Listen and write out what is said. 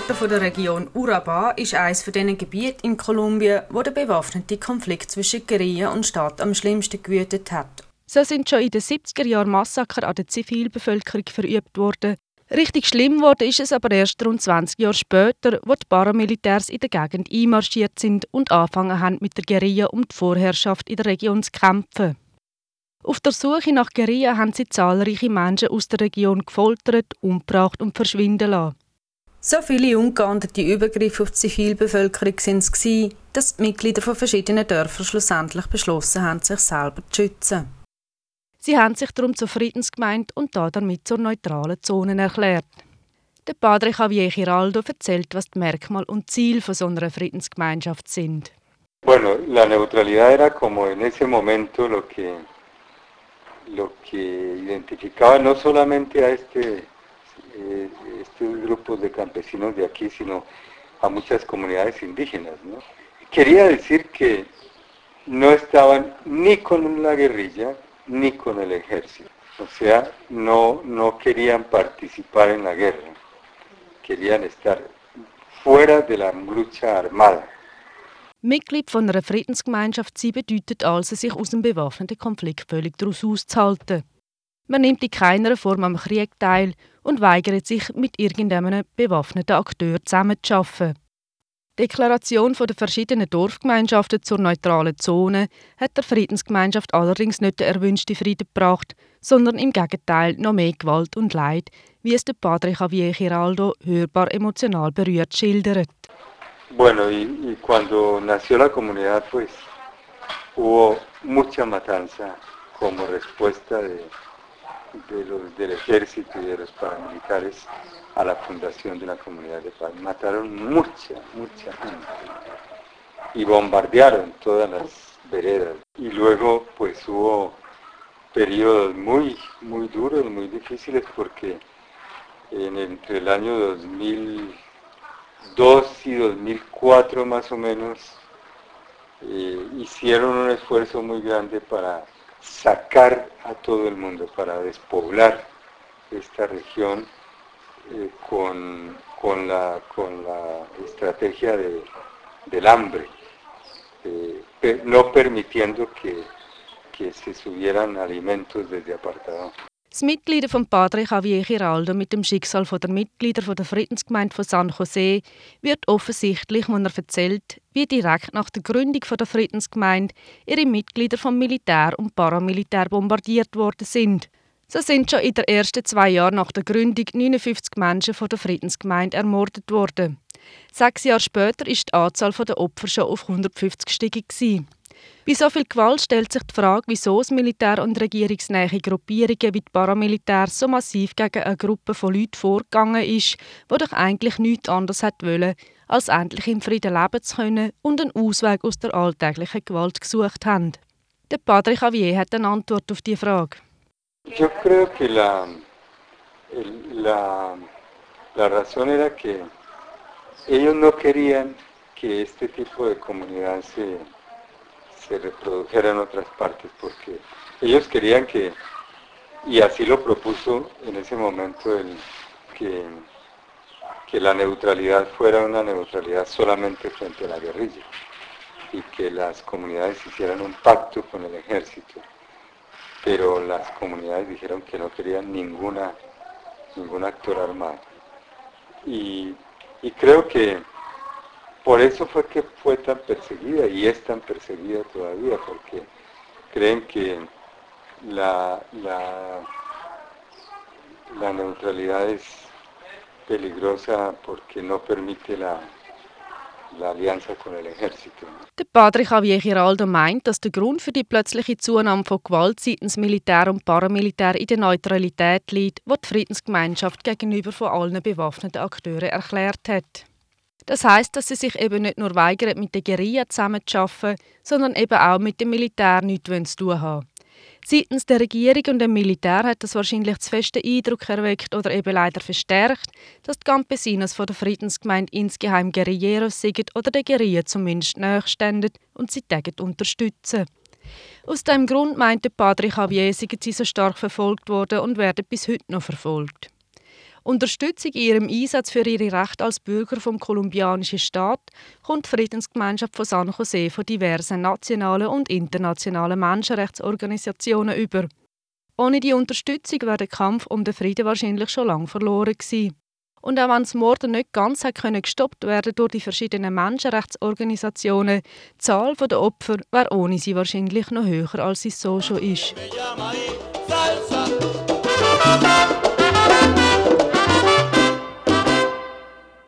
Norte der Region Urabá ist eines von diesen Gebieten in Kolumbien, wo der bewaffnete Konflikt zwischen Guerilla und Staat am schlimmsten gewütet hat. So sind schon in den 70er Jahren Massaker an der Zivilbevölkerung verübt worden. Richtig schlimm wurde ist es aber erst rund 20 Jahre später, wo die Paramilitärs in der Gegend einmarschiert sind und angefangen haben, mit der Guerilla um die Vorherrschaft in der Region zu kämpfen. Auf der Suche nach Guerilla haben sie zahlreiche Menschen aus der Region gefoltert, umgebracht und verschwinden lassen. So viele ungeahndete Übergriffe auf die Zivilbevölkerung waren es, dass die Mitglieder von verschiedenen Dörfern schlussendlich beschlossen haben, sich selber zu schützen. Sie haben sich darum zur Friedensgemeinde und damit zur neutralen Zone erklärt. Der Padre Javier Giraldo erzählt, was die Merkmale und Ziele von so einer Friedensgemeinschaft sind. Bueno, la neutralidad era como en ese momento lo que identificaba no solamente a estos grupos de campesinos de aquí, sino a muchas comunidades indígenas, ¿no? Quería decir que no estaban ni con la guerrilla ni con el ejército, o sea, no querían participar en la guerra, querían estar fuera de la lucha armada. Mitglied von einer Friedensgemeinschaft sein bedeutet also, sich aus dem bewaffneten Konflikt völlig daraus auszuhalten. Man nimmt in keiner Form am Krieg teil und weigert sich, mit irgendeinem bewaffneten Akteur zusammenzuarbeiten. Die Deklaration der verschiedenen Dorfgemeinschaften zur neutralen Zone hat der Friedensgemeinschaft allerdings nicht den erwünschten Frieden gebracht, sondern im Gegenteil noch mehr Gewalt und Leid, wie es der Padre Javier Giraldo hörbar emotional berührt schildert. Bueno, y cuando nació la comunidad, pues hubo mucha matanza como respuesta del ejército y de los paramilitares a la fundación de la comunidad de paz. Mataron mucha gente y bombardearon todas las veredas. Y luego pues hubo periodos muy duros, muy difíciles, porque entre el año 2002 y 2004 más o menos hicieron un esfuerzo muy grande para sacar a todo el mundo, para despoblar esta región con la estrategia del hambre, no permitiendo que se subieran alimentos desde apartado. Das Mitglieder vom Padre Javier Giraldo mit dem Schicksal der Mitglieder der Friedensgemeinde von San José wird offensichtlich, wenn er erzählt, wie direkt nach der Gründung der Friedensgemeinde ihre Mitglieder vom Militär und Paramilitär bombardiert worden sind. So sind schon in den ersten 2 Jahren nach der Gründung 59 Menschen von der Friedensgemeinde ermordet worden. 6 Jahre später ist die Anzahl der Opfer schon auf 150 gestiegen. Bei so viel Gewalt stellt sich die Frage, wieso das Militär und regierungsnahe Gruppierungen wie die Paramilitär so massiv gegen eine Gruppe von Leuten vorgegangen ist, die doch eigentlich nichts anderes wollen, als endlich im Frieden leben zu können und einen Ausweg aus der alltäglichen Gewalt gesucht haben. Der Padre Javier hat eine Antwort auf diese Frage. Yo creo que la razón era que ellos no querían que este tipo de comunidad se reprodujera en otras partes, porque ellos querían que, y así lo propuso en ese momento, que la neutralidad fuera una neutralidad solamente frente a la guerrilla y que las comunidades hicieran un pacto con el ejército, pero las comunidades dijeron que no querían ningún actor armado. Y creo que por eso fue que fue tan perseguida y es tan perseguida todavía, porque creen que la neutralidad es peligrosa porque no permite la Allianza con el ejército. Der Padre Javier Giraldo meint, dass der Grund für die plötzliche Zunahme von Gewalt seitens Militär und Paramilitär in der Neutralität liegt, die die Friedensgemeinschaft gegenüber von allen bewaffneten Akteuren erklärt hat. Das heisst, dass sie sich eben nicht nur weigern, mit der Guerilla zusammenzuarbeiten, sondern eben auch mit dem Militär nichts zu tun haben. Seitens der Regierung und dem Militär hat das wahrscheinlich zu festen Eindruck erweckt oder eben leider verstärkt, dass die Campesinos von der Friedensgemeinde insgeheim Guerilleros sind oder der Guerilla zumindest nahestehen und sie täglich unterstützen. Aus diesem Grund meinte Padre Javier, seien sie so stark verfolgt worden und werden bis heute noch verfolgt. Unterstützung in ihrem Einsatz für ihre Rechte als Bürger vom kolumbianischen Staat kommt die Friedensgemeinschaft von San José von diversen nationalen und internationalen Menschenrechtsorganisationen über. Ohne die Unterstützung wäre der Kampf um den Frieden wahrscheinlich schon lange verloren gewesen. Und auch wenn das Morden nicht ganz gestoppt werden durch die verschiedenen Menschenrechtsorganisationen, die Zahl der Opfer wäre ohne sie wahrscheinlich noch höher, als sie so schon ist.